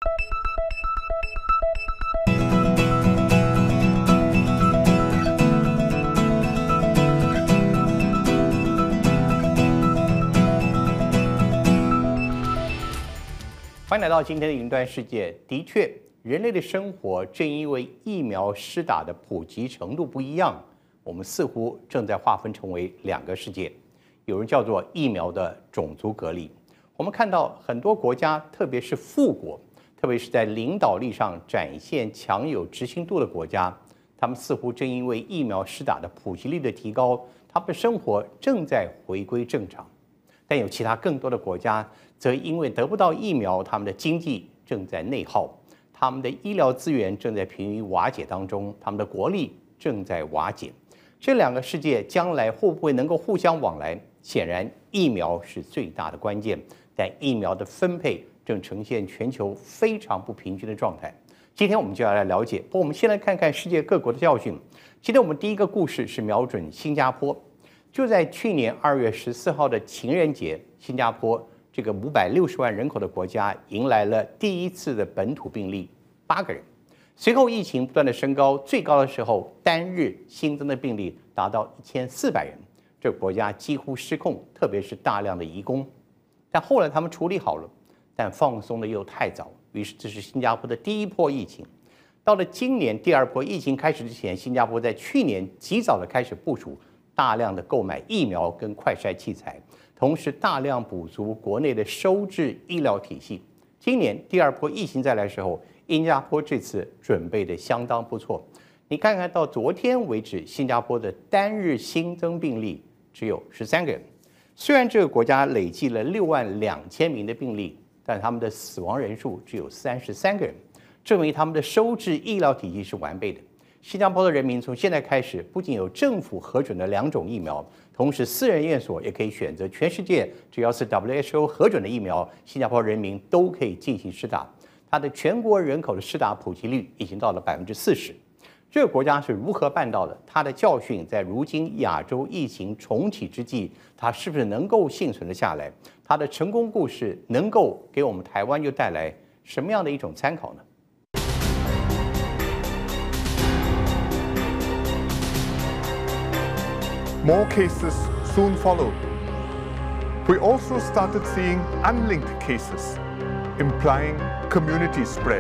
欢迎来到今天的雲端世界。的確，人類的生活正因為疫苗施打的普及程度不一樣，我們似乎正在劃分成為兩個世界。有人叫做疫苗的種族隔離。我們看到很多國家，特別是富國，特別是在領導力上展現強有執行度的國家，他們似乎正因為疫苗施打的普及率的提高，他們的生活正在回歸正常。但有其他更多的國家，則因為得不到疫苗，他們的經濟正在內耗，他們的醫療資源正在瀕於瓦解當中，他們的國力正在瓦解。這兩個世界將來會不會能夠互相往來？顯然，疫苗是最大的關鍵，但疫苗的分配正呈現全球非常不平均的狀態。今天我們就要來了解，不過我們先來看看世界各國的教訓。今天我們第一個故事是瞄準新加坡。就在去年2月14號的情人節，新加坡這個560萬人口的國家迎來了第一次的本土病例，8個人。隨後疫情不斷的升高，最高的時候單日新增的病例達到1400人，這個國家幾乎失控，特別是大量的移工。但後來他們處理好了，但放鬆的又太早，於是這是新加坡的第一波疫情。到了今年第二波疫情開始之前，新加坡在去年及早的開始部署。大量的購買疫苗跟快篩器材，同時大量補足國內的收治醫療體系。今年第二波疫情再來的時候，新加坡這次準備的相當不錯。你看看到昨天為止，新加坡的單日新增病例只有13個人。雖然這個國家累計了62000名的病例，但他們的死亡人數只有33個人，證明他們的收治醫療體系是完備的。新加坡的人民從現在開始，不僅有政府核准的2種疫苗，同時私人驗所也可以選擇全世界只要是 WHO 核准的疫苗，新加坡人民都可以進行施打。它的全國人口的施打普及率已經到了40%。這個國家是如何辦到的？它的教訓在如今亞洲疫情重啟之際，它是不是能夠幸存得下來？它的成功故事能夠給我們台灣又帶來什麼樣的一種參考呢？ More cases soon followed. We also started seeing unlinked cases, implying community spread.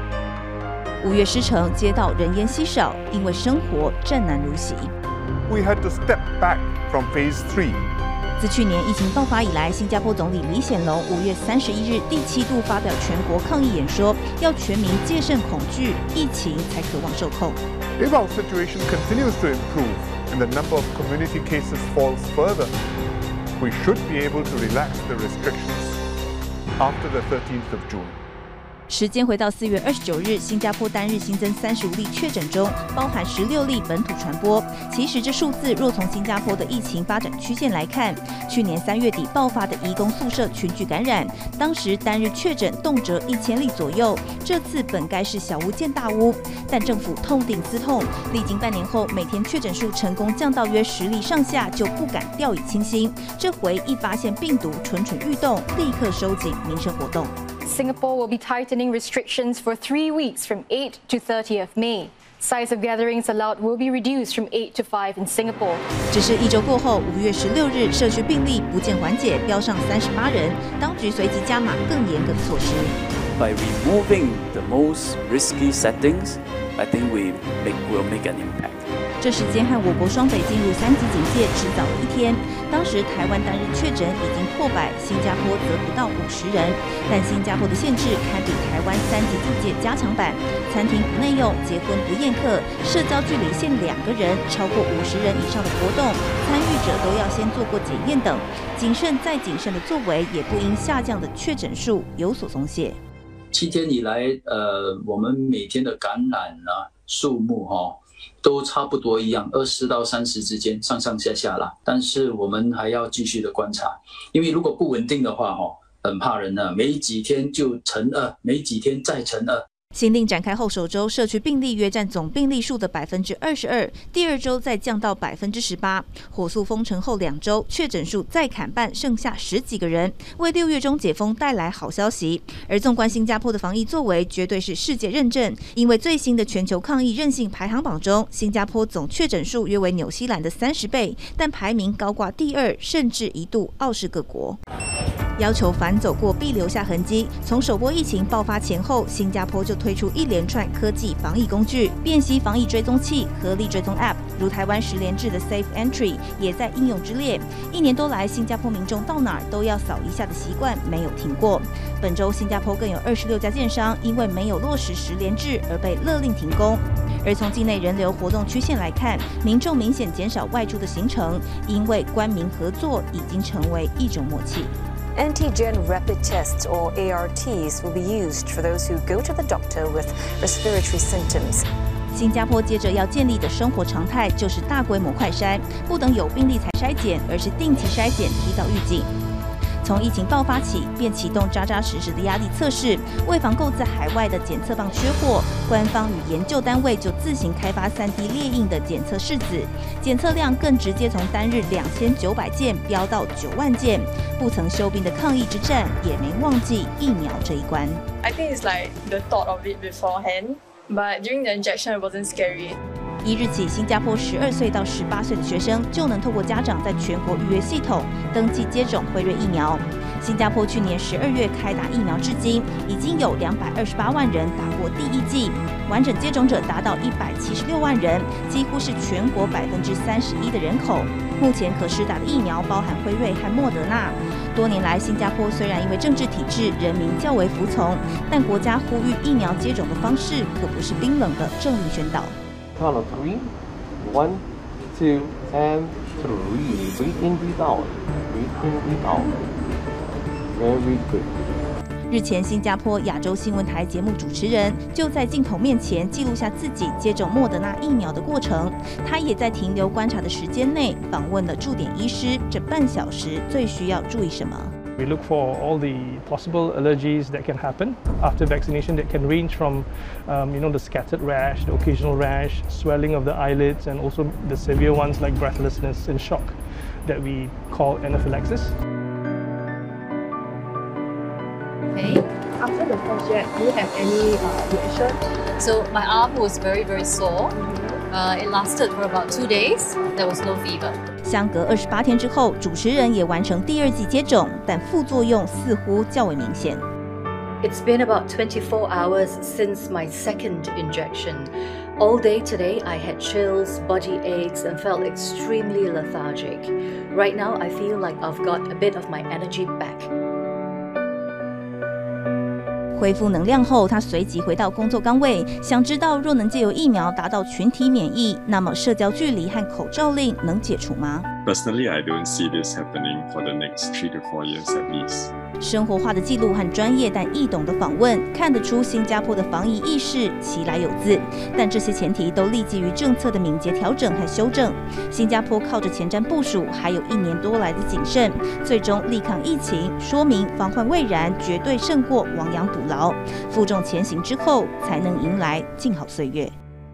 5月獅城街道人烟稀少，因為生活戰難如洗。 We had to step back from phase 3. 自去年疫情爆發以來，新加坡總理李顯龍5月31日第7度發表全國抗疫演說，要全民戒慎恐懼，疫情才可望受控。 If our situation continues to improve and the number of community cases falls further, we should be able to relax the restrictions after the 13th of June. 时間回到4月29日，新加坡單日新增35例確診中，包含16例本土傳播。其實這數字若從新加坡的疫情發展曲線來看，去年3月底爆發的移工宿舍群聚感染，當時單日確診動輒1000例左右。這次本該是小巫見大巫，但政府痛定思痛，歷經半年後，每天確診數成功降到約10例上下，就不敢掉以輕心。這回一發現病毒蠢蠢欲動，立刻收緊民生活動。 Singapore will be tightening restrictions for 3 weeks from 8 to 30th May. Size of gatherings allowed will be reduced from 8 to 5 in Singapore. 只是1周過後，5月16日，社區病例不見緩解，飆上38人，當局隨即加碼更嚴格的措施。 By removing the most risky settings, I think will make an impact. 這時間和我國雙北進入3級警戒只早了1天。當時台灣單日確診已經破100，新加坡則不到50人。但新加坡的限制堪比台灣3級警戒加強版，餐廳不內用，結婚不宴客，社交距離限2個人，超過50人以上的活動，參與者都要先做過檢驗等。謹慎再謹慎的作為，也不因下降的確診數有所鬆懈。 7天以來，我們每天的感染數目都差不多一樣，20到30之間，上上下下啦。但是我們還要繼續的觀察，因為如果不穩定的話，很怕人呢，沒幾天就乘2，沒幾天再乘2。 新令展開後首周，社區病例約佔總病例數的22%，第二周再降到18%。火速封城後2周，確診數再砍半，剩下10幾個人，為6月中解封帶來好消息。而縱觀新加坡的防疫作為，絕對是世界認證，因為最新的全球抗疫韌性排行榜中，新加坡總確診數約為紐西蘭的30倍，但排名高掛第2，甚至一度傲視各國。要求反走過必留下痕跡。從首波疫情爆發前後，新加坡就推出一連串科技防疫工具，辨析防疫追蹤器、合力追蹤 App， 如台灣10連制的 Safe Entry 也在應用之列。1年多來，新加坡民眾到哪兒都要掃一下的習慣沒有停過。本周新加坡更有26家建商因為沒有落實10連制而被勒令停工。而從境內人流活動曲線來看，民眾明顯減少外出的行程，因為官民合作已經成為一種默契。 Antigen rapid tests, or ARTs, will be used for those who go to the doctor with respiratory symptoms. 新加坡接着要建立的生活常態就是大規模快篩，不等有病例才篩檢，而是定期篩檢，提早預警。從疫情爆發起，便啟動扎扎實實的壓力測試。為防購自海外的檢測棒缺貨，官方與研究單位就自行開發3D 列印的檢測試紙，檢測量更直接從單日2900件飆到9萬件。不曾休兵的抗疫之戰，也沒忘記疫苗這一關。 I think it's like the thought of it beforehand, but during the injection it wasn't scary. 1日起，新加坡12歲到18歲的學生就能透過家長在全國預約系統登記接種輝瑞疫苗。新加坡去年12月開打疫苗至今，已經有228萬人打過第1劑，完整接種者達到176萬人，幾乎是全國31%的人口。目前可施打的疫苗包含輝瑞和莫德納。多年來，新加坡雖然因為政治體制，人民較為服從，但國家呼籲疫苗接種的方式可不是冰冷的政令宣導。 Count of 3, 1, 2, and 3. Breathe in, breathe out. Breathe in, breathe out. Very good. 日前，新加坡亞洲新聞台節目主持人就在鏡頭面前記錄下自己接種莫德納疫苗的過程。他也在停留觀察的時間內訪問了駐點醫師，這半小時最需要注意什麼？ We look for all the possible allergies that can happen after vaccination that can range from, the scattered rash, the occasional rash, swelling of the eyelids, and also the severe ones like breathlessness and shock that we call anaphylaxis. Okay. After the first jab, do you have any reaction? So my arm was very, very sore. It lasted for about 2 days. There was no fever. 相隔28天之後，主持人也完成第2劑接種，但副作用似乎較為明顯。 It's been about 24 hours since my second injection. All day today, I had chills, body aches, and felt extremely lethargic. Right now, I feel like I've got a bit of my energy back. 恢復能量後，他隨即回到工作崗位。想知道，若能借由疫苗達到群體免疫，那麼社交距離和口罩令能解除嗎？ Personally, I don't see this happening for the next 3 to 4 years at least. 生活化的記錄和專業但易懂的訪問，看得出新加坡的防疫意識其來有自。但這些前提都立基於政策的敏捷調整和修正。新加坡靠着前瞻部署，還有1年多來的謹慎，最終力抗疫情，說明防患未然絕對勝過亡羊補牢。負重前行之後，才能迎來靜好歲月。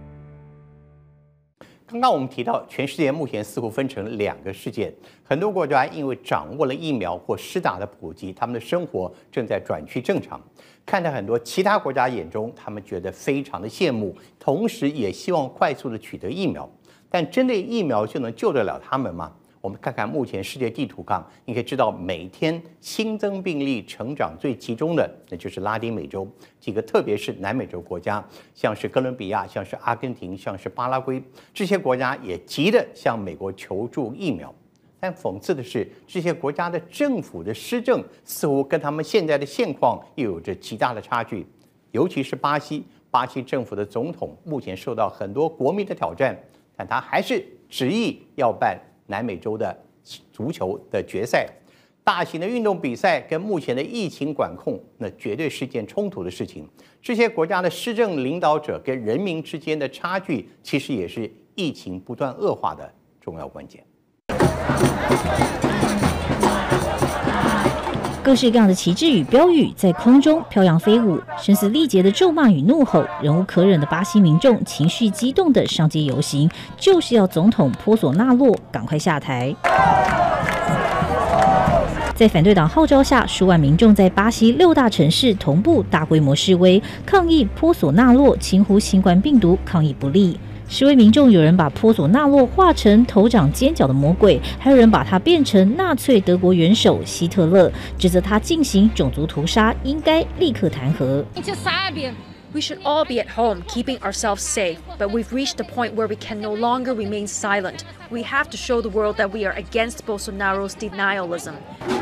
剛剛我們提到，全世界目前似乎分成2個世界，很多國家因為掌握了疫苗或施打的普及，他們的生活正在轉趨正常。看在很多其他國家眼中，他們覺得非常的羨慕，同時也希望快速的取得疫苗。但真的疫苗就能救得了他們嗎？我們看看目前世界地圖上，你可以知道每天新增病例成長最集中的，那就是拉丁美洲幾個，特別是南美洲國家，像是哥倫比亞，像是阿根廷，像是巴拉圭，這些國家也急地向美國求助疫苗。但諷刺的是，這些國家的政府的施政似乎跟他們現在的現況又有着極大的差距，尤其是巴西政府的總統目前受到很多國民的挑戰，但他還是執意要辦南美洲的足球的決賽，大型的運動比賽跟目前的疫情管控，那絕對是件衝突的事情。這些國家的施政領導者跟人民之間的差距，其實也是疫情不斷惡化的重要關鍵。 各式各样的旗幟與標語在空中飄揚飛舞，聲嘶力竭的咒罵與怒吼，忍無可忍的巴西民眾情緒激動的上街遊行，就是要總統波索納洛趕快下台。在反對黨號召下，數萬民眾在巴西6大城市同步大規模示威，抗議波索納洛輕忽新冠病毒抗疫不力。示威民眾有人把波索納洛畫成頭長尖角的魔鬼，還有人把他變成納粹德國元首希特勒，指責他進行種族屠殺，應該立刻彈劾。 We should all be at home, keeping ourselves safe, but we've reached a point where we can no longer remain silent. We have to show the world that we are against Bolsonaro's denialism.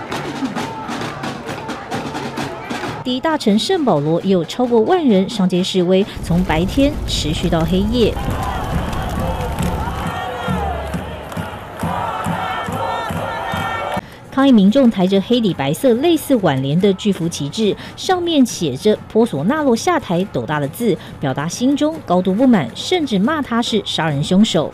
第一大城聖保羅也有超過萬人上街示威，從白天持續到黑夜。抗議民眾抬着黑底白色類似挽聯的巨幅旗幟，上面寫着“波索納洛下台”斗大的字，表達心中高度不滿，甚至罵他是殺人兇手。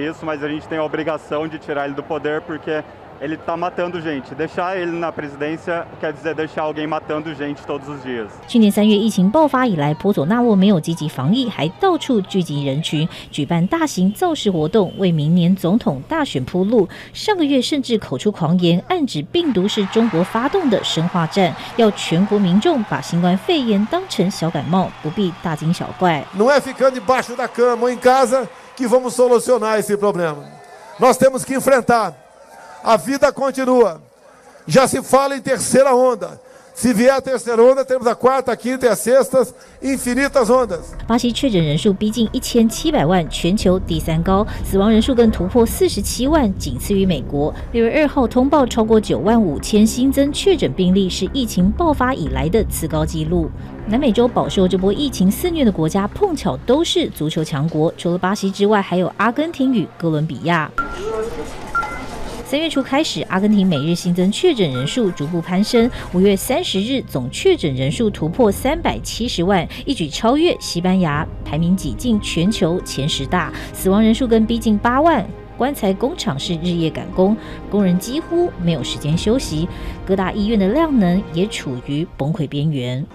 Ele está matando gente. Deixar ele na presidência quer dizer deixar alguém matando gente todos os dias. 去年3月疫情爆發以來，波索納洛沒有積極防疫，還到處聚集人群，舉辦大型造勢活動，為明年總統大選鋪路。上個月甚至口出狂言，暗指病毒是中國發動的生化戰，要全國民眾把新冠肺炎當成小感冒，不必大驚小怪。 Não é ficando debaixo da cama ou em casa que vamos solucionar esse problema. Nós temos que enfrentar.A vida continua. Já se fala em terceira onda. Se vier a terceira onda, temos a quarta, a quinta e a sexta, infinitas ondas. 巴西確診人數逼近1700萬，全球第3高，死亡人數更突破47萬，僅次於美國。6月2號通報超過95000新增確診病例，是疫情爆發以來的次高紀錄。南美洲飽受這波疫情肆虐的國家，碰巧都是足球強國，除了巴西之外，還有阿根廷與哥倫比亞。3月初開始，阿根廷每日新增確診人數逐步攀升，5月30日總確診人數突破370萬，一舉超越西班牙，排名擠進全球前10大，死亡人數更逼近8萬。棺材工廠是日夜趕工，工人幾乎沒有時間休息，各大醫院的量能也處於崩潰邊緣。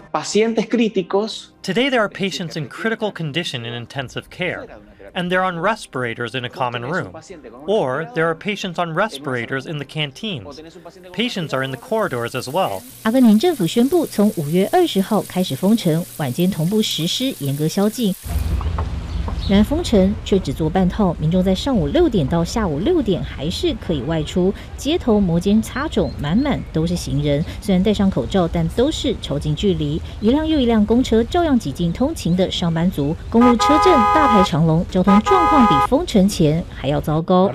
Today there are patients in critical condition in intensive care, and they're on respirators in a common room. Or there are patients on respirators in the canteens. Patients are in the corridors as well. 阿根廷政府宣布，從5月20號開始封城，晚間同步實施嚴格宵禁。然封城卻只做半套，民眾在上午6點到下午6點還是可以外出，街頭摩肩擦踵，滿滿都是行人。雖然戴上口罩，但都是超近距離。一輛又一輛公車照樣擠進通勤的上班族，公路車陣大排長龍，交通狀況比封城前還要糟糕。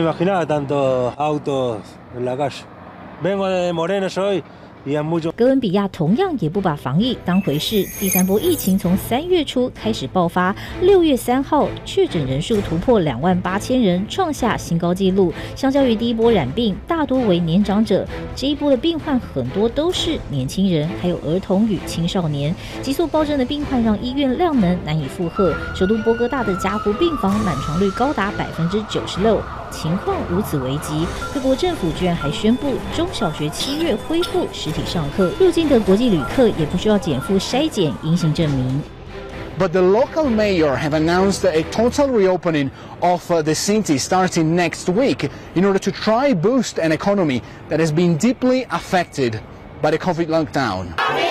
哥倫比亞同樣也不把防疫當回事，第3波疫情從3月初開始爆發，6月3號確診人數突破28000人，創下新高紀錄。相較於第一波染病，大多為年長者，這一波的病患很多都是年輕人，還有兒童與青少年。急速暴增的病患讓醫院量能難以負荷，首都波哥大的加護病房滿床率高達96%。情況如此危急，各國政府居然還宣布中小學7月恢復實體上課，入境的國際旅客也不需要檢附篩檢陰性證明。 But the local mayor have announced a total reopening of the city starting next week in order to try boost an economy that has been deeply affected by the COVID lockdown.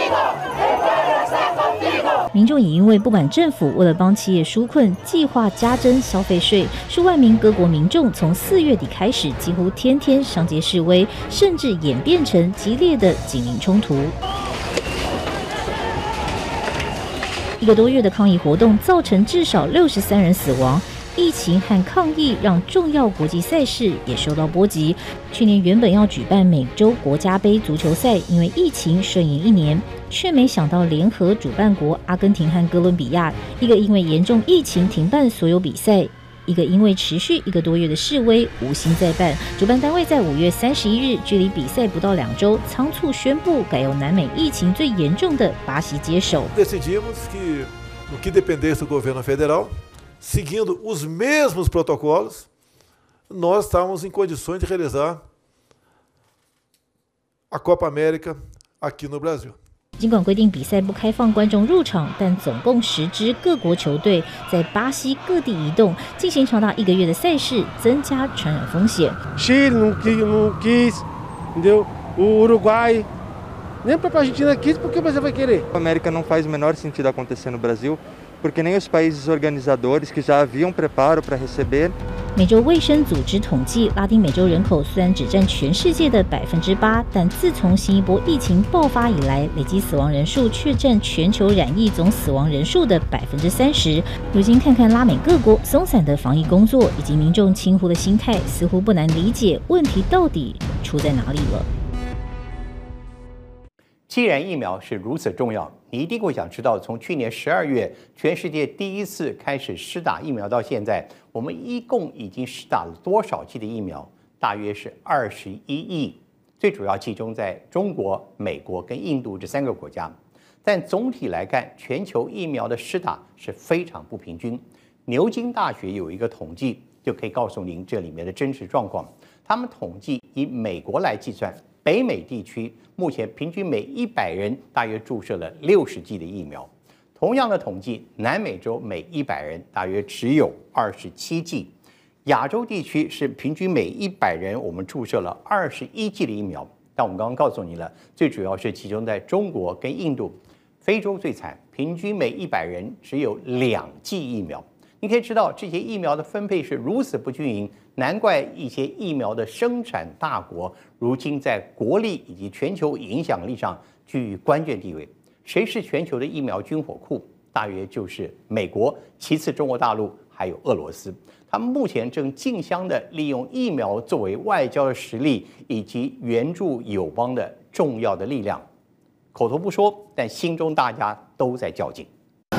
民眾也因為不滿政府為了幫企業紓困，計劃加徵消費稅，數萬名各國民眾從4月底開始，幾乎天天上街示威，甚至演變成激烈的警民衝突。1個多月的抗議活動造成至少63人死亡。疫情和抗議讓重要國際賽事也受到波及。去年原本要舉辦美洲國家盃足球賽，因為疫情順延1年，卻沒想到聯合主辦國阿根廷和哥倫比亞，一個因為嚴重疫情停辦所有比賽，一個因為持續1個多月的示威無心再辦。主辦單位在5月31日，距離比賽不到2週，倉促宣布改由南美疫情最嚴重的巴西接手。 Decidimos que, no que dependesse do governo federal, seguindo os mesmos protocolos, nós estávamos em condições de realizar a Copa América aqui no Brasil. 儘管規定比賽不開放觀眾入場，但總共10支各國球隊在巴西各地移動，進行長達1個月的賽事，增加傳染風險。 Chile não quis, entendeu? O Uruguai, nem para a Argentina quis, por que você vai querer? A América não faz o menor sentido acontecer no Brasil, porque nem os países organizadores que já haviam preparo para receber. 美洲卫生組織統計，拉丁美洲人口雖然只佔全世界的8%，但自從新一波疫情爆發以來，累計死亡人數卻佔全球染疫總死亡人數的30%。如今看看拉美各國鬆散的防疫工作以及民眾輕忽的心態，似乎不難理解問題到底出在哪裡了。 既然疫苗是如此重要，你一定会想知道，從去年12月全世界第一次開始施打疫苗到現在，我們一共已經施打了多少劑的疫苗？大約是21億，最主要集中在中國、美國跟印度這3個國家。但總體來看，全球疫苗的施打是非常不平均。牛津大學有一個統計，就可以告訴您這裡面的真實狀況。他們統計以美國來計算，北美地區目前平均每100人大約注射了60劑的疫苗。同樣的統計，南美洲每100人大約只有27劑。亞洲地區是平均每100人我們注射了21劑的疫苗。但我們剛剛告訴你了，最主要是集中在中國跟印度。非洲最慘，平均每100人只有2劑疫苗。你可以知道這些疫苗的分配是如此不均勻，難怪一些疫苗的生產大國如今在國力以及全球影響力上居於關鍵地位。誰是全球的疫苗軍火庫？大約就是美國，其次中國大陸，還有俄羅斯。他們目前正競相的利用疫苗作為外交的實力以及援助友邦的重要的力量。口頭不說，但心中大家都在較勁。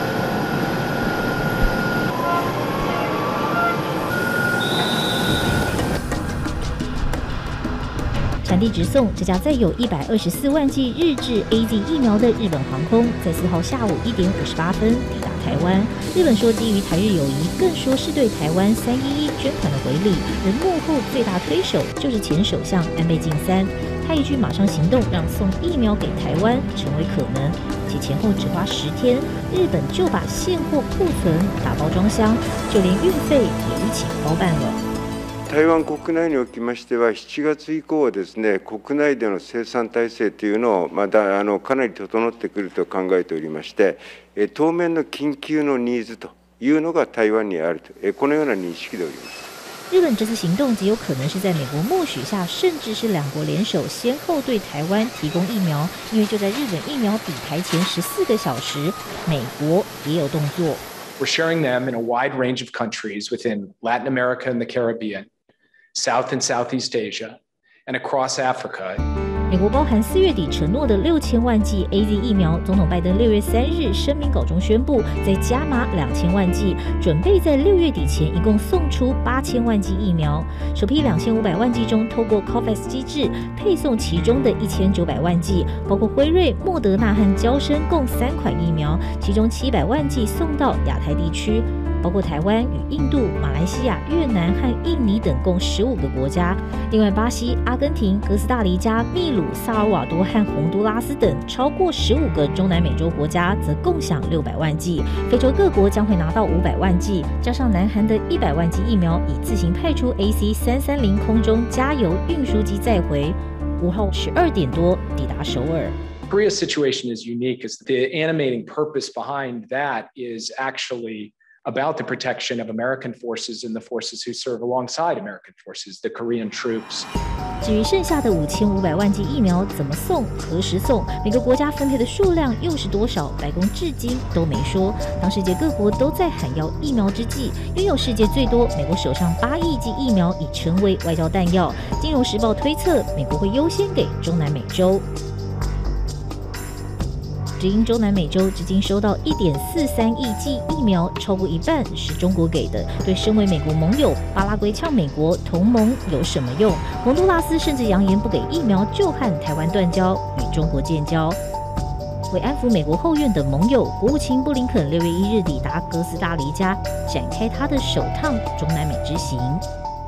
產地直送，這家載有124萬劑日制 AZ 疫苗的日本航空，在4號下午1點58分抵達台灣。日本說基於台日友誼，更說是對台灣311捐款的回禮，而幕後最大推手就是前首相安倍晉三。他一句馬上行動，讓送疫苗給台灣成為可能，且前後只花10天，日本就把現貨庫存打包裝箱，就連運費也一起包辦了。 台灣国内におきましては7月以降はですね、国内での生産体制というのをまだかなり整ってくると考えておりまして、当面の緊急のニーズというのが台灣にあると、このような認識でおります。 日本這次行動極有可能是在美國默許下，甚至是2國聯手，先後對台灣提供疫苗。因為就在日本疫苗抵台前14個小時，美國也有動作。 We're sharing them in a wide range of countries within Latin America and the Caribbean, South and Southeast Asia, and across Africa. 美國包含4月底承諾的6000萬劑 AZ 疫苗，總統拜登6月3日聲明稿中宣布，再加碼2000萬劑，準備在6月底前一共送出8000萬劑疫苗。首批2500萬劑中，透過 COVAX 機制配送其中的1900萬劑，包括輝瑞、莫德納和嬌生共3款疫苗，其中700萬劑送到亞太地區。包括台灣與印度、馬來西亞、越南和印尼等共15個國家。另外，巴西、阿根廷、哥斯達黎加、秘魯、薩爾瓦多和洪都拉斯等超過15個中南美洲國家則共享600萬劑。非洲各國將會拿到500萬劑，加上南韓的100萬劑疫苗，已自行派出 AC-330空中加油運輸機載回。5號12點多抵達首爾。 Korea's situation is unique, as the animating purpose behind that is actually about the protection of American forces and the forces who serve alongside American forces, the Korean troops. 至於剩下的5500萬劑疫苗怎麼送、何時送，每個國家分配的數量又是多少，白宮至今都沒說。當世界各國都在喊要疫苗之際，擁有世界最多美國手上8億劑疫苗已成為外交彈藥。金融時報推測，美國會優先給中南美洲。只因中南美洲至今收到1.43億劑疫苗，超過一半是中國給的。對身為美國盟友，巴拉圭嗆美國同盟有什麼用？洪都拉斯甚至揚言不給疫苗就和台灣斷交，與中國建交。為安撫美國後院的盟友，國務卿布林肯6月1日抵達哥斯達黎加，展開他的首趟中南美之行。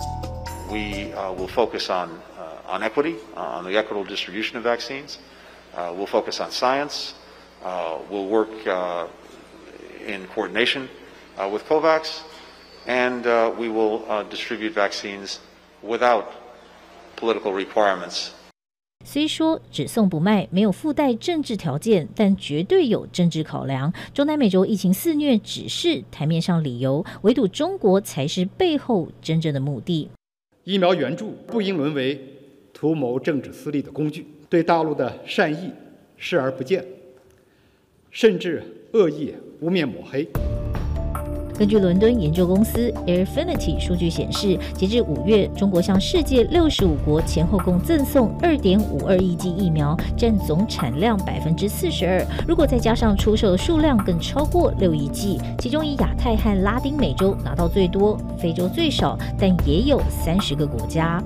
We will focus on equity, on the equitable distribution of vaccines. We'll focus on science. We'll work in coordination with COVAX, and we will distribute vaccines without political requirements. 虽说只送不卖没有附带政治条件，但絕對有政治考量。中南美洲疫情肆虐只是台面上理由，唯獨中國才是背後真正的目的。 疫苗援助不應淪為圖謀政治私利的工具，對大陸的善意視而不見，甚至惡意污蔑抹黑。 根據倫敦研究公司 Airfinity 數據顯示，截至5月，中國向世界65國前後共贈送2.52億劑疫苗，佔總產量42%。如果再加上出售的數量，更超過6億劑。其中以亞太和拉丁美洲拿到最多，非洲最少，但也有30個國家。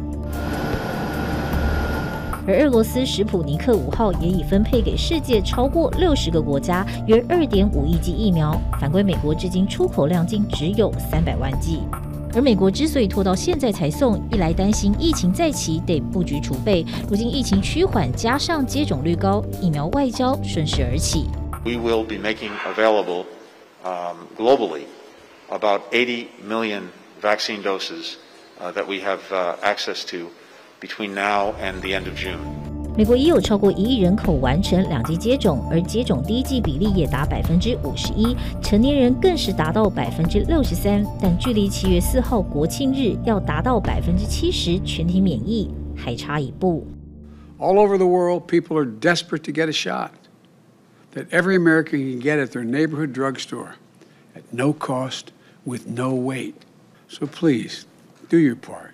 而俄羅斯史普尼克5號也已分配給世界超過60個國家，約2.5億劑疫苗。反觀美國，至今出口量竟只有300萬劑。而美國之所以拖到現在才送，一來擔心疫情再起得布局儲備，如今疫情趨緩，加上接種率高，疫苗外交順勢而起。 We will be making available globally about 80 million vaccine doses that we have access to.Between now and the end of June. 美國已有超過1億人口完成2劑接種，而接種第1劑比例也達51%，成年人更是達到63%，但距離7月4號國慶日要達到70%全體免疫還差一步。 All over the world, people are desperate to get a shot that every American can get at their neighborhood drugstore at no cost, with no wait. So please, do your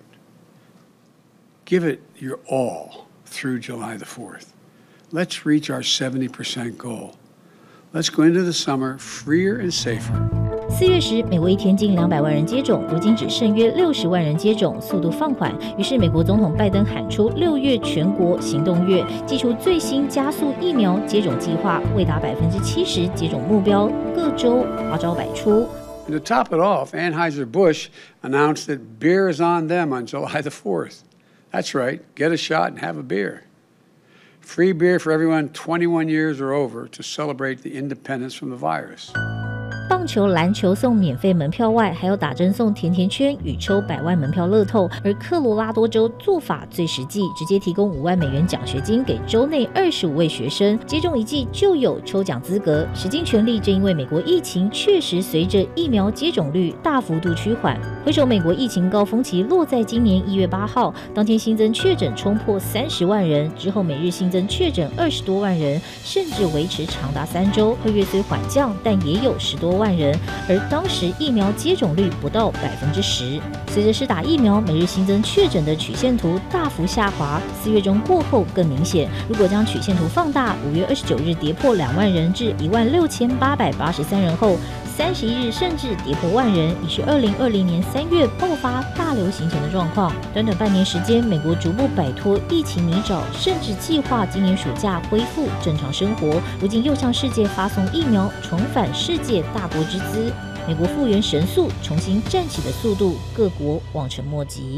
part.Give it your all through July the 4th. Let's reach our 70% goal. Let's go into the summer freer and safer. 4月時，美國一天近200萬人接種，如今只剩約60萬人接種，速度放緩。於是，美國總統拜登喊出6月全國行動月，祭出最新加速疫苗接種計劃，為達70%接種目標，各州花招百出。 And to top it off, Anheuser-Busch announced that beer is on them on July the 4th.That's right. Get a shot and have a beer. Free beer for everyone 21 years or over to celebrate the independence from the virus. 棒球、籃球送免費門票外，還有打針送甜甜圈與抽100萬門票樂透。而科羅拉多州做法最實際，直接提供5萬美元獎學金給州內25位學生，接種1劑就有抽獎資格。使盡全力，正因為美國疫情確實隨着疫苗接種率大幅度趨緩。回首美國疫情高峰期落在今年1月8號，當天新增確診衝破30萬人，之後每日新增確診20多萬人，甚至維持長達3週。2月雖緩降，但也有10多萬人，而當時疫苗接種率不到10%。隨着施打疫苗，每日新增確診的曲線圖大幅下滑。4月中過後更明顯，如果將曲線圖放大，5月29日跌破2萬人至16883人後，31日甚至跌破萬人，已是2020年3月爆發大流行前的狀況。短短半年時間，美國逐步擺脫疫情泥沼，甚至計劃今年暑假恢復正常生活。如今又向世界發送疫苗，重返世界大國之姿。美國復原神速，重新站起的速度，各國望塵莫及。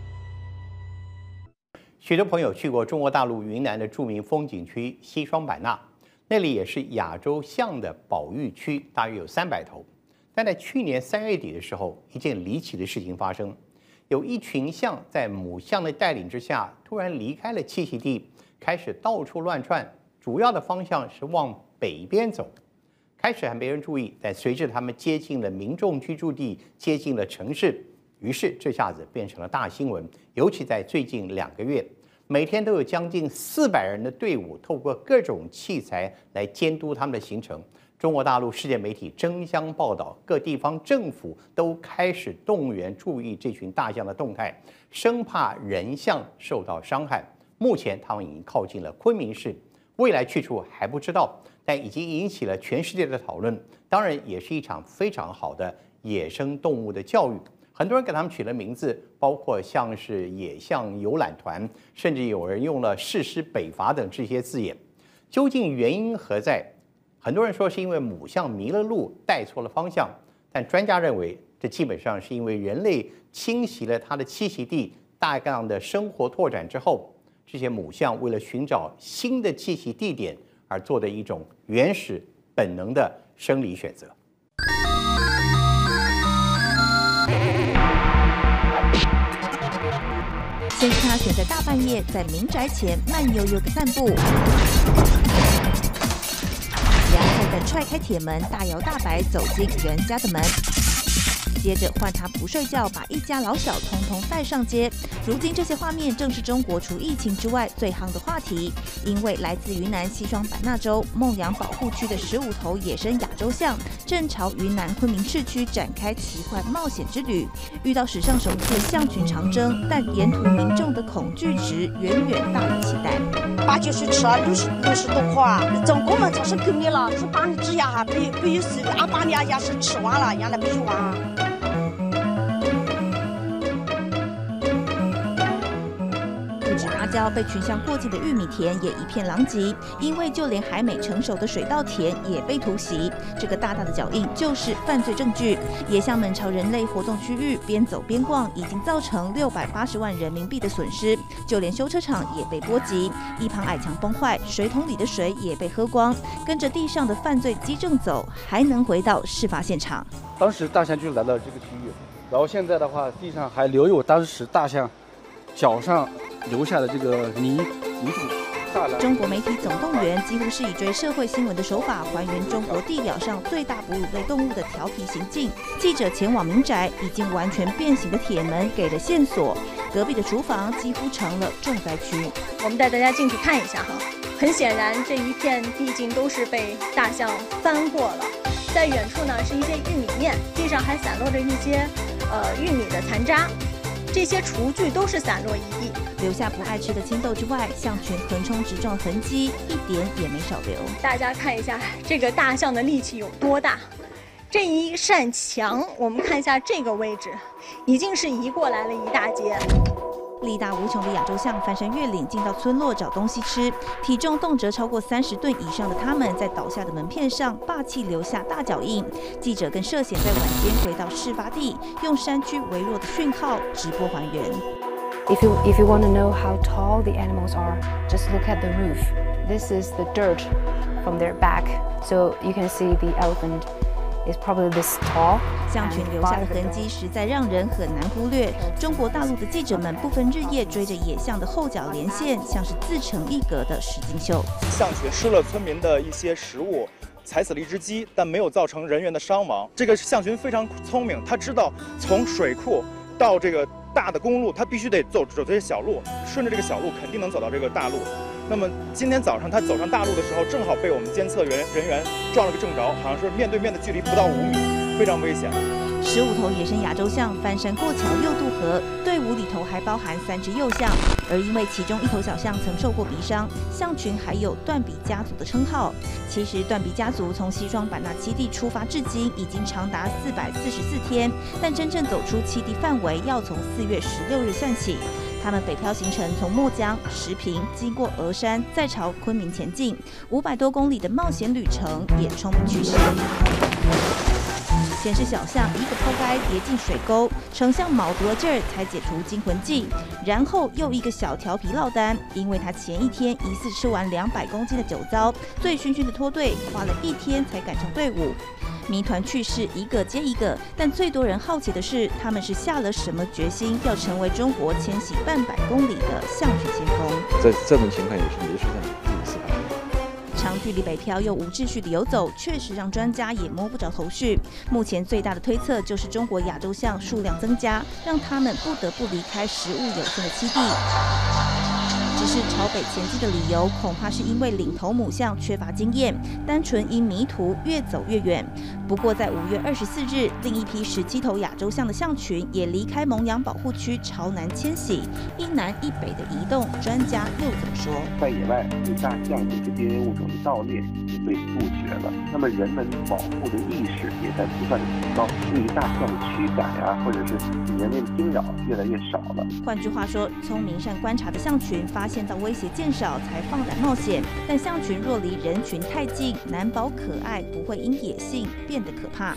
許多朋友去過中國大陸雲南的著名風景區西雙版納。那裡也是亞洲象的保育區，大約有300頭。但在去年3月底的時候，一件離奇的事情發生，有一群象在母象的帶領之下，突然離開了棲息地，開始到處亂竄，主要的方向是往北邊走。開始還沒人注意，但隨着他們接近了民眾居住地，接近了城市，於是這下子變成了大新聞。尤其在最近2個月。每天都有將近400人的隊伍，透過各種器材來監督他們的行程。中國大陸世界媒體爭相報道，各地方政府都開始動員注意這群大象的動態，生怕人象受到傷害。目前他們已經靠近了昆明市，未來去處還不知道，但已經引起了全世界的討論。當然，也是一場非常好的野生動物的教育。很多人給他們取了名字，包括像是野象遊覽團，甚至有人用了誓師北伐等這些字眼。究竟原因何在？很多人說是因為母象迷了路，帶錯了方向，但專家認為這基本上是因為人類侵襲了它的棲息地，大量的生活拓展之後， 這些母象為了尋找新的棲息地點而做的一種原始本能的生理選擇。 先是他選在大半夜在民宅前慢悠悠的散步，然後再踹開鐵門，大搖大擺走進人家的門。接着換他不睡覺，把一家老小通通帶上街。如今這些畫面正是中國除疫情之外最夯的話題，因為來自雲南西雙版納州孟養保護區的15頭野生亞洲象正朝雲南昆明市區展開奇幻冒險之旅，遇到史上首次象群長征，但沿途民眾的恐懼值遠遠大於期待。 把就是吃了60多塊，总共嘛就是给你了，是把你只牙还没有死，把你牙是吃完了，原来没有完。 阿胶被群象过境的玉米田也一片狼藉，因為就連還沒成熟的水稻田也被突襲。這個大大的腳印就是犯罪證據。野象們朝人類活動區域邊走邊逛，已經造成680萬人民幣的損失，就連修車廠也被波及，一旁矮牆崩壞，水桶裡的水也被喝光。跟着地上的犯罪跡證走，還能回到事發現場。 當時大象就來到這個區域，然後現在的話，地上還留有當時大象腳上留下的這個泥土。 中國媒體總動員幾乎是以追社會新聞的手法，還原中國地表上最大哺乳類動物的調皮行徑。記者前往民宅，已經完全變形的鐵門給了線索，隔壁的廚房幾乎成了重災區。 我們帶大家進去看一下哈，很顯然這一片地境都是被大象翻過了。在遠處呢是一些玉米面，地上還散落着一些玉米的殘渣。這些廚具都是散落一地， 留下不愛吃的青豆之外，象群橫衝直撞痕跡一點也沒少留。 大家看一下這個大象的力氣有多大，這一扇牆，我們看一下這個位置，已經是移過來了一大截。 力大無窮的亞洲象翻山越嶺進到村落找東西吃，體重動輒超過30噸以上的它們，在倒下的門片上霸氣留下大腳印。記者更涉險在晚間回到事發地，用山區微弱的訊號直播還原。 If you want to know how tall the animals are, just look at the roof. This is the dirt from their back, so you can see the elephant is probably this tall. 象群留下的痕跡實在讓人很難忽略。中國大陸的記者們不分日夜追着野象的後腳連線，像是自成一格的實境秀。 象群吃了村民的一些食物，踩死了一只雞，但沒有造成人員的傷亡。這個象群非常聰明，它知道從水庫到這個大的公路，它必須得走這些小路，順着這個小路肯定能走到這個大路。那麼今天早上他走上大路的時候，正好被我們監測人員撞了個正着，好像是面對面的距離不到5米，非常危險。 15頭野生亞洲象翻山過橋又渡河，隊伍裡頭還包含3隻幼象，而因為其中1頭小象曾受過鼻傷，象群還有斷臂家族的稱號。其實斷臂家族從西雙版納棲地出發至今已經長達444天，但真正走出棲地範圍要從4月16日算起。他們北漂行程從墨江、石屏，經過峨山，再朝昆明前進，500多公里的冒險旅程也充滿趣事。先是小象一個拋開跌進水溝，丞相卯足了勁兒才解除驚魂記，然後又一個小調皮落單，因為他前一天疑似吃完200公斤的酒糟，醉醺醺的脫隊，花了1天才趕上隊伍。謎團趣事一個接一個，但最多人好奇的是，他們是下了什麼決心，要成為中國遷徙半百公里的象群先鋒？ 這種情況也是歷史上第一次發生。 長距離北漂又無秩序的游走，確實讓專家也摸不着頭緒。目前最大的推測就是中國亞洲象數量增加，讓他們不得不離開食物有限的棲地。只是朝北前進的理由，恐怕是因為領頭母象缺乏經驗，單純因迷途越走越遠。不過在5月24日，另一批17頭亞洲象的象群也離開蒙養保護區朝南遷徙，一南一北的移動，專家又怎麼說？ 在野外對大象的這些物種的盜獵是被杜絕了，那麼人們保護的意識也在不斷的提高，對於大象的驅趕啊，或者是人類的驚擾越來越少了。 換句話說，聰明善觀察的象群發現到威脅漸少才放膽冒險，但象群若離人群太近，難保可愛不會因野性變得可怕。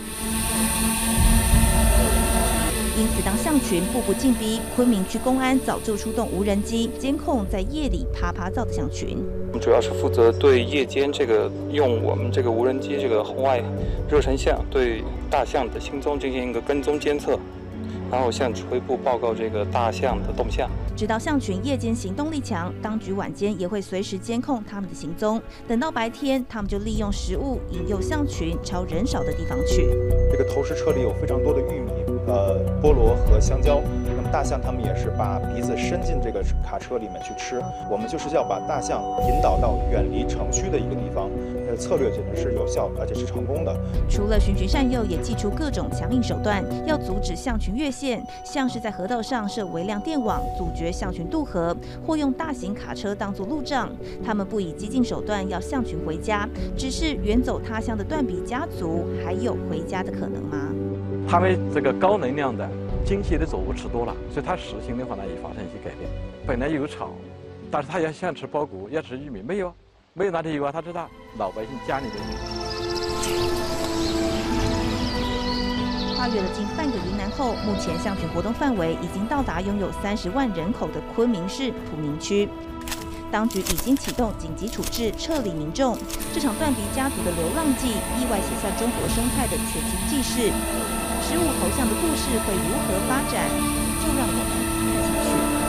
因此，當象群步步進逼，昆明區公安早就出動無人機監控在夜裡趴趴造的象群。 我們主要是負責對夜間用我們這個無人機紅外熱成像對大象的行蹤進行一個跟蹤監測，然後向指揮部報告這個大象的動向。 直到象群夜間行動力強，當局晚間也會隨時監控他們的行蹤。等到白天，他們就利用食物引誘象群朝人少的地方去。 這個投食車裡有非常多的玉米、菠蘿和香蕉。那麼大象它們也是把鼻子伸進這個卡車裡面去吃。我們就是要把大象引導到遠離城區的一個地方。策略简直是有效，而且是成功的。除了循循善誘，也祭出各種强硬手段，要阻止象群越線，像是在河道上設微量電網，阻絕象群渡河，或用大型卡車當作路障。他們不以激進手段要象群回家，只是遠走他鄉的斷鼻家族還有回家的可能嗎？ 他們這個高能量的精細的作物吃多了，所以它食性的話呢也發生一些改變。本來有草，但是他也想吃苞谷，要吃玉米，没有哪裡有啊？他知道老百姓家裡的有。 跨越了近半個雲南後，目前象群活動範圍已經到達擁有30萬人口的昆明市普寧區。當局已經啟動緊急處置，撤離民眾。這場斷鼻家族的流浪記，意外寫下中國生態的全新紀事。15頭象的故事會如何發展？就讓我們看下去。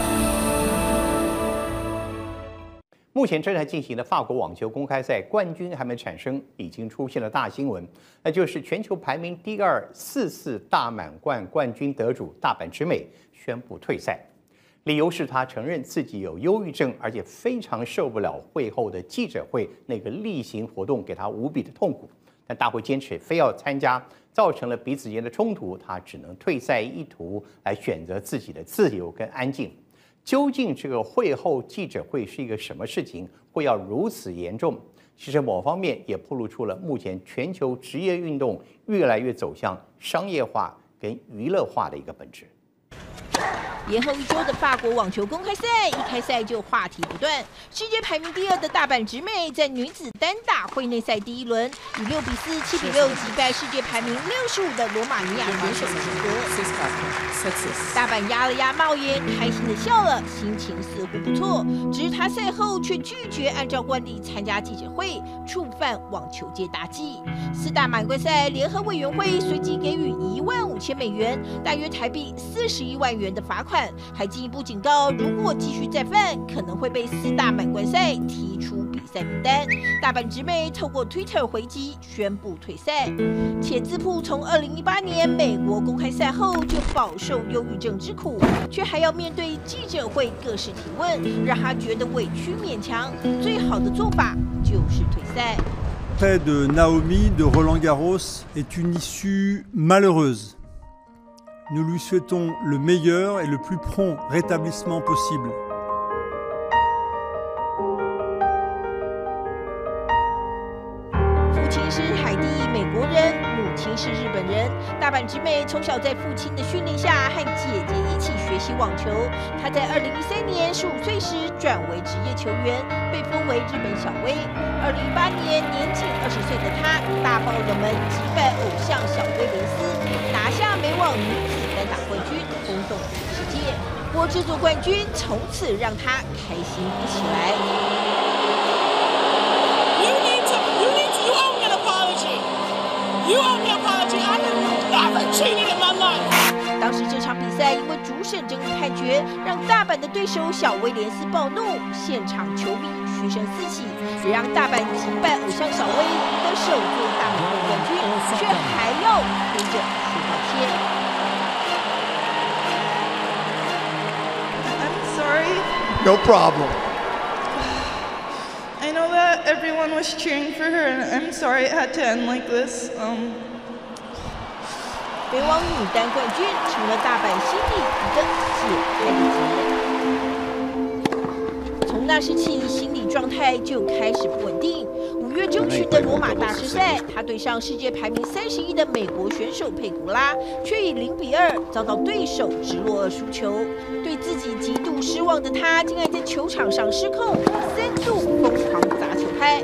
目前正在進行的法國網球公開賽冠軍還沒產生，已經出現了大新聞，那就是全球排名第2、4次大滿貫冠軍得主大阪直美宣布退賽，理由是他承認自己有憂鬱症，而且非常受不了會後的記者會那個例行活動給他無比的痛苦，但大會堅持非要參加，造成了彼此間的衝突，他只能退賽一途來選擇自己的自由跟安靜。究竟這個會後記者會是一個什麼事情，會要如此嚴重？其實某方面也暴露出了目前全球職業運動越來越走向商業化跟娛樂化的一個本質。 延後1周的法國網球公開賽，一開賽就話題不斷。世界排名第2的大阪直美在女子單打會內賽第1輪，以6比4、7比6擊敗世界排名65的羅馬尼亞選手齊格。大阪壓了壓帽檐，開心的笑了，心情似乎不錯。只是他賽後卻拒絕按照慣例參加記者會，觸犯網球界大忌。4大滿貫賽聯合委員會隨即給予15000美元，大約台幣41萬元的罰款。還進一步警告，如果繼續再犯，可能會被4大滿貫賽踢出比賽名單。大阪直美透過 Twitter 回擊，宣布退賽。且自曝從2018年美國公開賽後就飽受憂鬱症之苦，卻還要面對記者會各式提問，讓他覺得委屈勉強。最好的做法就是退賽。 Près de Naomi de Roland Garros est une issue malheureuse. Nous lui souhaitons le meilleur et le plus prompt rétablissement possible. 父親是海地裔美國人，母親是日本人。大阪直美從小在父親的訓練下和姐姐一起學習網球。她在2013年15歲時轉為職業球員，被封為日本小威。2018年年僅20歲的她大爆冷門擊敗偶像小威廉斯，拿下美網女子單打冠軍，轟動全世界。不過這座冠軍從此讓她開心不起來。You owe me an apology. I have never cheated in my life. 當時這場比賽因為主審爭議判決，讓大阪的對手小威廉斯暴怒，現場球迷噓聲四起，也讓大阪擊敗偶像小威的首座大滿貫冠軍，卻還要哭着說道歉。 I'm sorry. No problem. I know that everyone was cheering for her, and I'm sorry it had to end like this. 美网女单冠軍成了大阪心裡一個解開的結。從那時起，心理狀態就開始不穩定。5 月爭取的羅馬大師賽，他對上世界排名31的美國選手佩古拉，卻以0-2遭到對手直落2輸球。對自己極度失望的他，竟然在球場上失控，3度瘋狂砸球拍。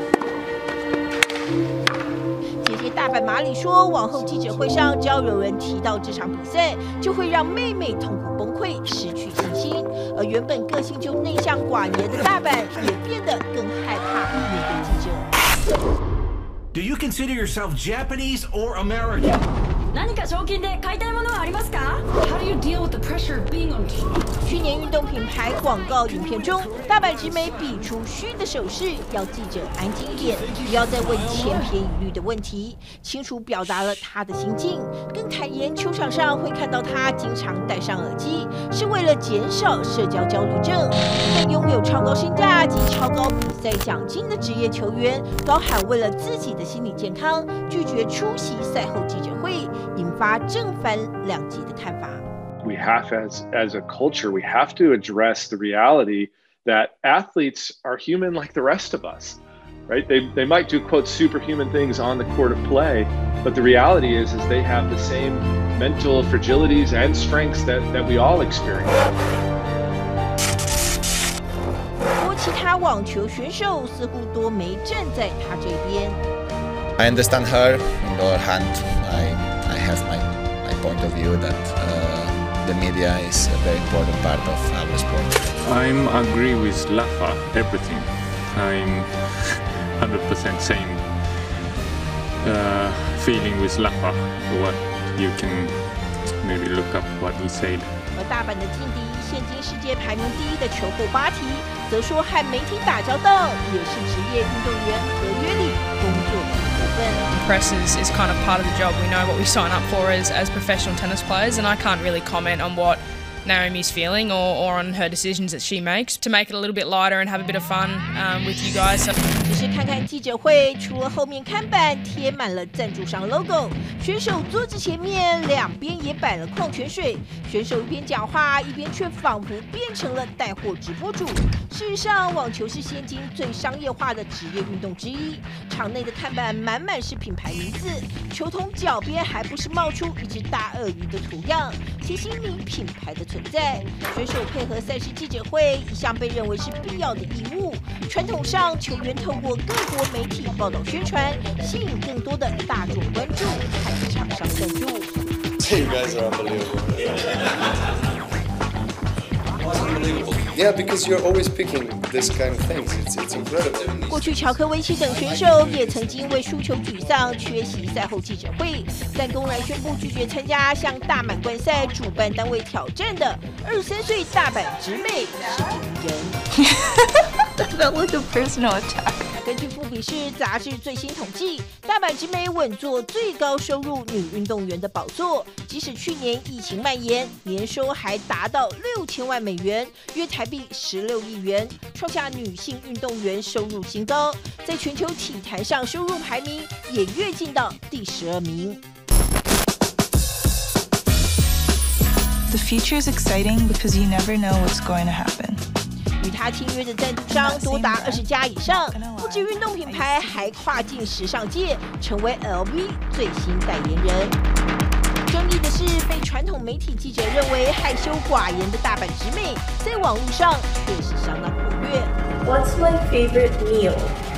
姐姐大阪麻里說，往後記者會上只要有人提到這場比賽，就會讓妹妹痛苦崩潰，失去信心。而原本個性就內向寡言的大阪，也變得更害怕面對記者。 Do you consider yourself Japanese or American? 何か賞金で買いたいものはありますか? How do you deal with the pressure of being on top? 去年運動品牌廣告影片中，大阪直美比出噓的手勢，要記者安靜一點，不要再問千篇一律的問題，清楚表達了她的心境。更坦言，球場上會看到她經常戴上耳機，是為了減少社交焦慮症。但擁有超高身價及超高比賽獎金的職業球員，高喊為了自己的心理健康，拒絕出席賽後記者會。引發正反兩極的看法。 We have, as a culture, we have to address the reality that athletes are human like the rest of us, right? They might do, quote, superhuman things on the court of play, but the reality is they have the same mental fragilities and strengths that we all experience. 不過，其他網球選手似乎都沒站在他這邊。 I understand her. On the other hand, I have my point of view that the media is a very important part of our sport. I agree with Lafa, everything. I'm 100% same feeling with Lafa. What you can maybe look up what he said. 而大阪的劲敌，现今世界排名第1的球后巴提，则說和媒體打交道也是職業運動員合約裡工作的一部分。 Press is kind of part of the job. We know what we sign up for as professional tennis players, and I can't really comment on what Naomi's feeling or on her decisions that she makes. To make it a little bit lighter and have a bit of fun with you guys. 只是看看記者會，除了後面看板貼滿了贊助商 logo， 選手桌子前面兩邊也擺了礦泉水，選手一邊講話一邊卻仿佛變成了帶貨直播主。事實上，網球是現今最商業化的職業運動之一，場內的看板滿滿是品牌名字，球筒腳邊還不時冒出一隻大鱷魚的圖樣，提醒你品牌的存在。選手配合賽事記者會一向被認為是必要的義務，傳統上球員透過各國媒體報道宣傳，吸引更多的大眾關注和廠商贊助。 You guys are unbelievable. Yeah, because you're always picking this kind of things. It's incredible. 過去喬科維奇等選手也曾經為輸球沮喪缺席賽後記者會，但公然宣布拒絕參加向大滿貫賽主辦單位挑戰的23歲大阪直美是第一人。 That felt like a personal attack. 根據富比士雜誌最新統計，大阪直美穩坐最高收入女運動員的寶座。即使去年疫情蔓延，年收還達到6000萬美元，約台幣16億元，創下女性運動員收入新高。在全球體壇上收入排名也躍進到第12名。 The future is exciting because you never know what's going to happen. 與他簽約的贊助商多達20家以上，不止運動品牌，還跨進時尚界，成為 LV 最新代言人。爭議的是，被傳統媒體記者認為害羞寡言的大阪直美，在網絡上卻是相當活躍。 What's my favorite meal?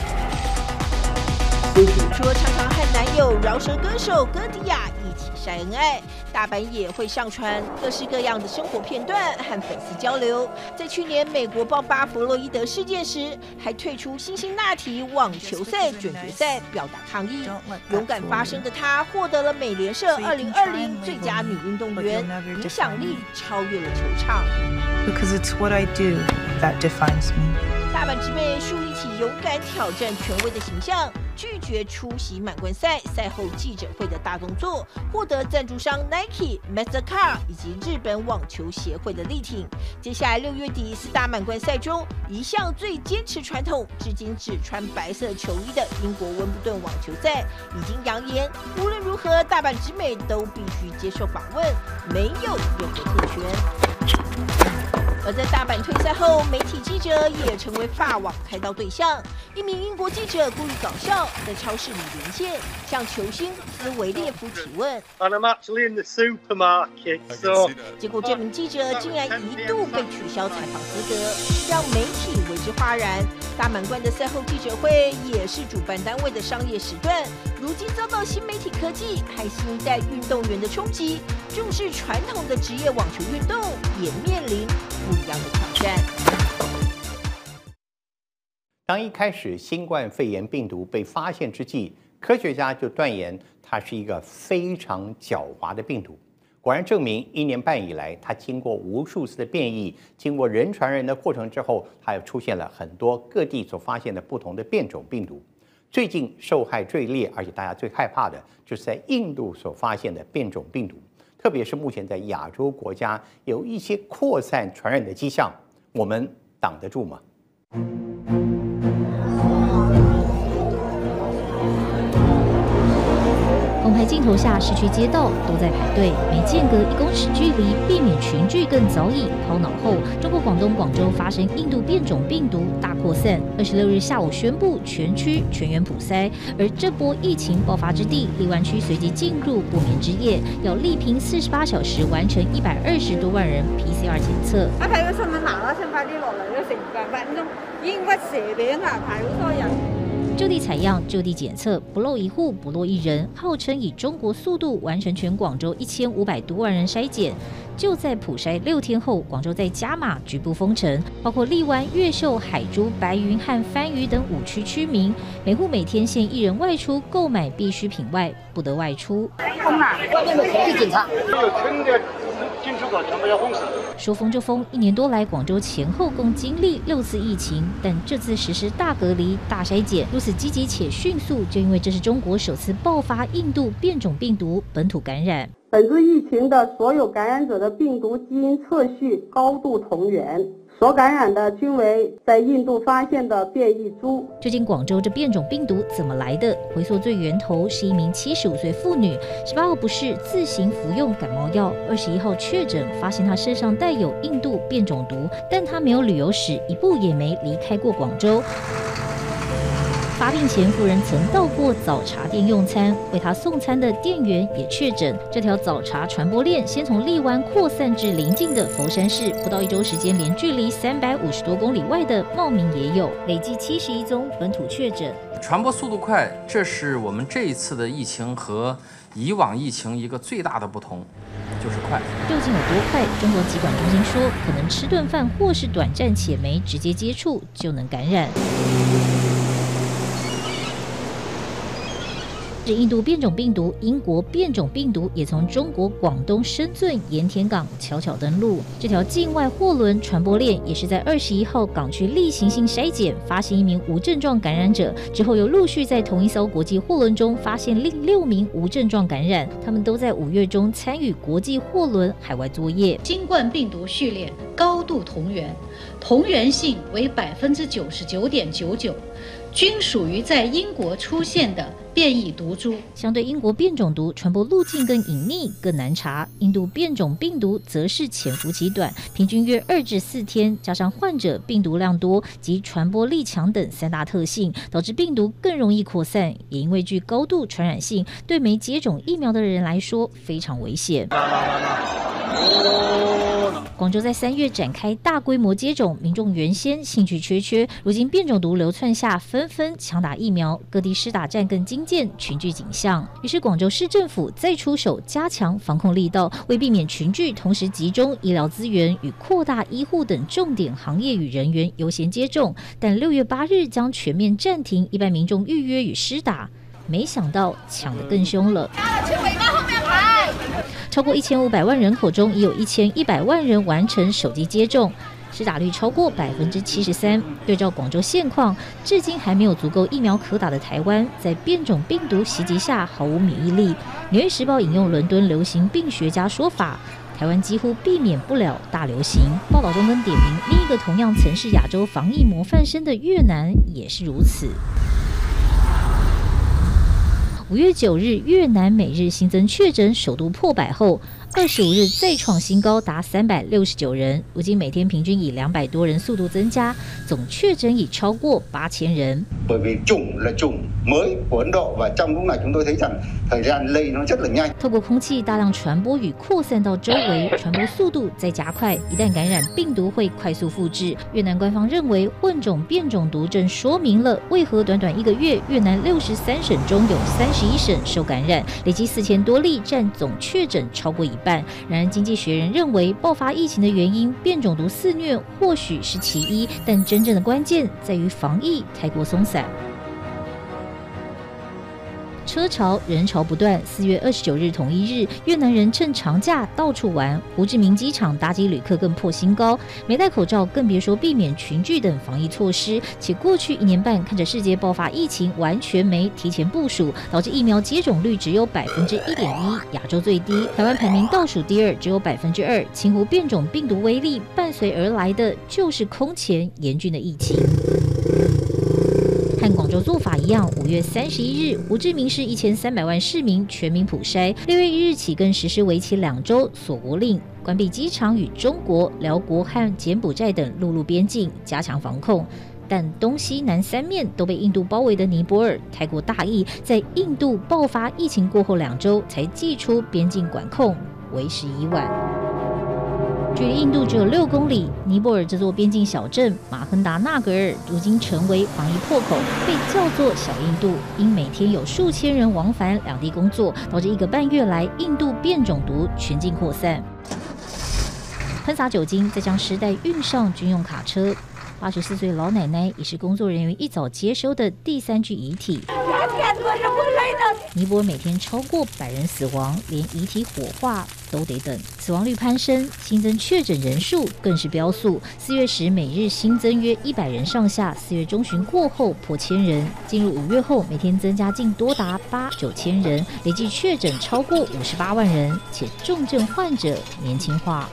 除了常常和男友饒舌歌手歌迪亞一起曬恩愛，大阪也會上傳各式各樣的生活片段和粉絲交流。在去年美國爆發弗洛伊德事件時，還退出辛辛那提網球賽準決賽表達抗議。勇敢發聲的她獲得了美聯社2020最佳女運動員，影響力超越了球場。 Because it's what I do that defines me. 大阪直美樹立起勇敢挑戰權威的形象，拒絕出席滿貫賽賽後記者會的大動作，獲得贊助商 Nike、Mastercard 以及日本網球協會的力挺。接下來6月底4大滿貫賽中，一向最堅持傳統，至今只穿白色球衣的英國溫布頓網球賽，已經揚言無論如何，大阪直美都必須接受訪問，沒有任何特權。 而在大阪退賽後，媒體記者也成為法網開刀對象。一名英國記者故意搞笑，在超市裡連線，向球星斯維列夫提問。 And I'm actually in the supermarket, so... 結果這名記者竟然一度被取消採訪資格，讓媒體為之嘩然。大滿貫的賽後記者會也是主辦單位的商業時段，如今遭到新媒體科技和新一代運動員的衝擊，重視傳統的職業網球運動也面臨不一樣的挑戰。 當一開始新冠肺炎病毒被發現之際，科學家就斷言它是一個非常狡猾的病毒。果然證明，1年半以來，它經過無數次的變異，經過人傳人的過程之後，它又出現了很多各地所發現的不同的變種病毒。最近受害最烈，而且大家最害怕的，就是在印度所發現的變種病毒，特別是目前在亞洲國家有一些擴散傳染的跡象，我們擋得住嗎？ 公開鏡頭下，市區街道都在排隊，每間隔1公尺距離，避免群聚更早已拋腦後。中國廣東廣州發生印度變種病毒大擴散，26日下午宣布全區全員普篩，而這波疫情爆發之地荔灣區隨即進入不眠之夜，要力拼48小時完成120多萬人 PCR 檢測。 我睇個新聞嗱嗱聲快啲落嚟都成8分鐘，已經屈蛇餅啦，排好多人。 就地採樣，就地檢測，不漏一戶，不落一人，號稱以中國速度完成全廣州1500多萬人篩檢。就在普篩6天後，廣州再加碼局部封城，包括荔灣、越秀、海珠、白雲和番禺等5區居民，每戶每天限1人外出購買必需品外，不得外出。 封了，外面的全是警察。 有村的进出口全部要封死。 說封就封，1年多來，廣州前後共經歷6次疫情，但這次實施大隔離、大篩檢，如此積極且迅速，就因為這是中國首次爆發印度變種病毒本土感染。 本次疫情的所有感染者的病毒基因測序高度同源，所感染的均為在印度發現的變異株。 究竟廣州這變種病毒怎麼來的？回溯最源頭是一名75歲婦女，18號不適自行服用感冒藥，21號確診，發現她身上帶有印度變種毒，但她沒有旅遊史，一步也沒離開過廣州。發病前，夫人曾到過早茶店用餐，為她送餐的店員也確診。這條早茶傳播鏈先從荔灣擴散至鄰近的佛山市，不到1週時間，連距離350多公里外的茂名也有，累計71宗本土確診。 傳播速度快，這是我們這一次的疫情和以往疫情一個最大的不同，就是快。 究竟有多快？中國疾管中心說，可能吃頓飯或是短暫且沒直接接觸就能感染。是印度變種病毒，英國變種病毒也從中國廣東深圳鹽田港悄悄登陸。這條境外貨輪傳播鏈也是在21號港區例行性篩檢，發現1名無症狀感染者，之後又陸續在同一艘國際貨輪中發現另6名無症狀感染，他們都在5月中參與國際貨輪海外作業。 新冠病毒序列高度同源，同源性為99.99%，均屬於在英國出現的變異毒株。 相對英國變種毒傳播路徑更隱匿、更難查，印度變種病毒則是潛伏期短，平均約2至4天，加上患者病毒量多及傳播力強等3大特性，導致病毒更容易擴散。也因為具高度傳染性，對沒接種疫苗的人來說非常危險。廣州在3月展開大規模接種，民眾原先興趣缺，如今變種毒流竄下，紛紛搶打疫苗，各地施打站更精進，群聚景象。於是廣州市政府再出手加強防控力道，為避免群聚，同時集中醫療資源與擴大醫護等重點行業與人員優先接種，但6月8日將全面暫停一般民眾預約與施打。沒想到搶得更兇了。超過1500萬人口中，已有1100萬人完成首劑接種，施打率超過73%。對照廣州現況，至今還沒有足夠疫苗可打的台灣，在變種病毒襲擊下毫無免疫力。紐約時報引用倫敦流行病學家說法，台灣幾乎避免不了大流行。報道中更點名另一個同樣曾是亞洲防疫模範生的越南也是如此。 5月9日，越南每日新增確診首度破100後，25日再創新高，達369人。如今每天平均以200多人速度增加，總確診已超過8000人。 Bởi vì chủng là chủng mới của Ấn Độ và trong lúc này chúng tôi thấy rằng thời gian lây nó rất là nhanh。 透過空氣大量傳播與擴散到周圍，傳播速度再加快，一旦感染，病毒會快速複製。越南官方認為，混種變種毒正說明了為何短短1個月，越南63省中有31省受感染，累計4000多例，佔總確診超過1半。然而，《經濟學人》認為，爆發疫情的原因，變種毒肆虐或許是其一，但真正的關鍵在於防疫太過鬆散。車潮人潮不斷，4月29日同一日，越南人趁長假到處玩，胡志明機場搭機旅客更破新高，沒戴口罩更別說避免群聚等防疫措施。且過去1年半，看着世界爆發疫情，完全沒提前部署，導致疫苗接種率只有1.1%，亞洲最低。台灣排名倒數第2，只有2%。輕忽變種病毒威力，伴隨而來的就是空前嚴峻的疫情。和廣州做法一樣，5月31日，胡志明市1300萬市民全民普篩，6月1日起更實施為期2週鎖國令，關閉機場與中國、寮國和柬埔寨等陸路邊境，加強防控。但東西南三面都被印度包圍的尼泊爾太過大意，在印度爆發疫情過後2週才祭出邊境管控，為時已晚。距離印度只有6公里，尼泊爾這座邊境小鎮馬亨達納格爾如今成為防疫破口，被叫做小印度，因每天有數千人往返兩地工作，導致1個半月來印度變種毒全境擴散。噴灑酒精，再將屍袋運上軍用卡車。84歲老奶奶已是工作人員一早接收的第3具遺體。尼泊爾每天超過100人死亡，連遺體火化都得等，死亡率攀升，新增確診人數更是飆速。4月時每日新增約100人上下，4月中旬過後破1000人，進入5月後每天增加近多達8-9千人，累計確診超過58萬人，且重症患者年輕化。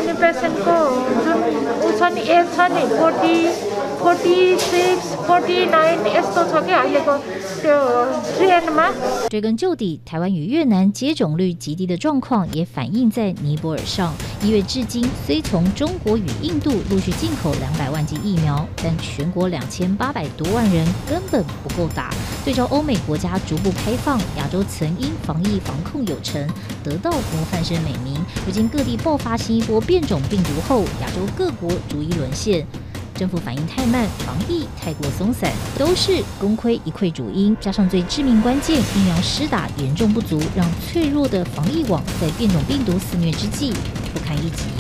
追根究底，台灣與越南接種率極低的狀況也反映在尼泊爾上。1月至今，雖從中國與印度陸續進口200萬劑疫苗，但全國2800多萬人根本不夠打。對照歐美國家逐步開放，亞洲曾因防疫防控有成，得到模範生美名。如今各地爆發新一波變種病毒後，亞洲各國逐一淪陷。政府反應太慢，防疫太過鬆散，都是功虧一簣主因。加上最致命關鍵，疫苗施打嚴重不足，讓脆弱的防疫網在變種病毒肆虐之際不堪一擊。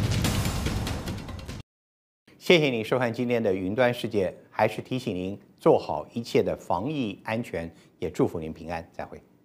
謝謝你收看今天的雲端世界，還是提醒您做好一切的防疫安全，也祝福您平安，再會。